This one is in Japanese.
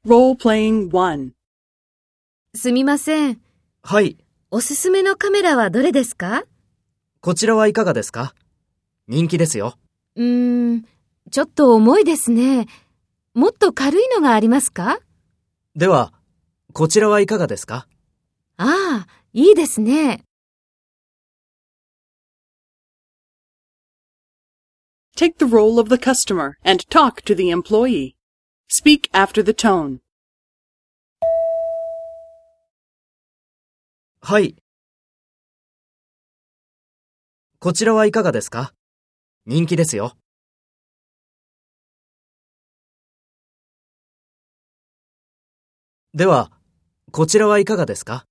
Role-playing 1. すみません。 はい、 おすすめのカメラはどれですか？ こちらはいかがですか？人気ですよ。 ちょっと重いですね。もっと軽いのがありますか？ では、こちらはいかがですか？ ああ、いいですね。 Take the role of the customer and talk to the employee. Speak after the tone. はい。こちらはいかがですか？人気ですよ。では、こちらはいかがですか？